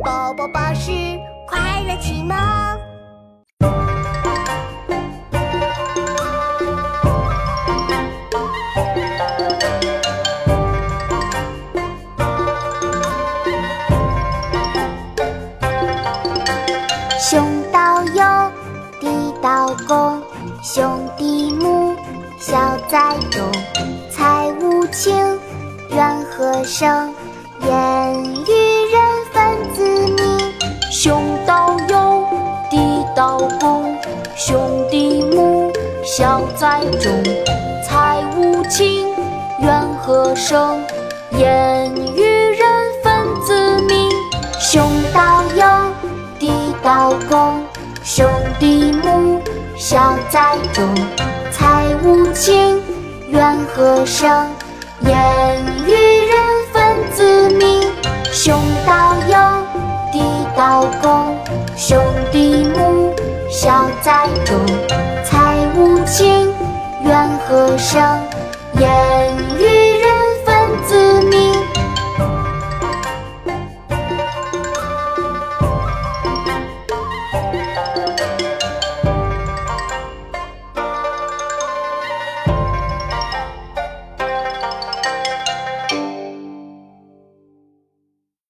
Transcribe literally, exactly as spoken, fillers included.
宝宝巴士快乐启蒙。兄道友，弟道恭，兄弟睦，孝在中。财无情，怨何生？言语人分子明。 兄道友，弟道恭，兄弟睦，孝在中。财无情，怨何生？言语人分子明。 兄道友，弟道恭，兄弟睦，孝在中。财无情，怨何生？言语人分子明。兄道友，弟道恭，兄弟睦，孝在中。财无情，怨何生？言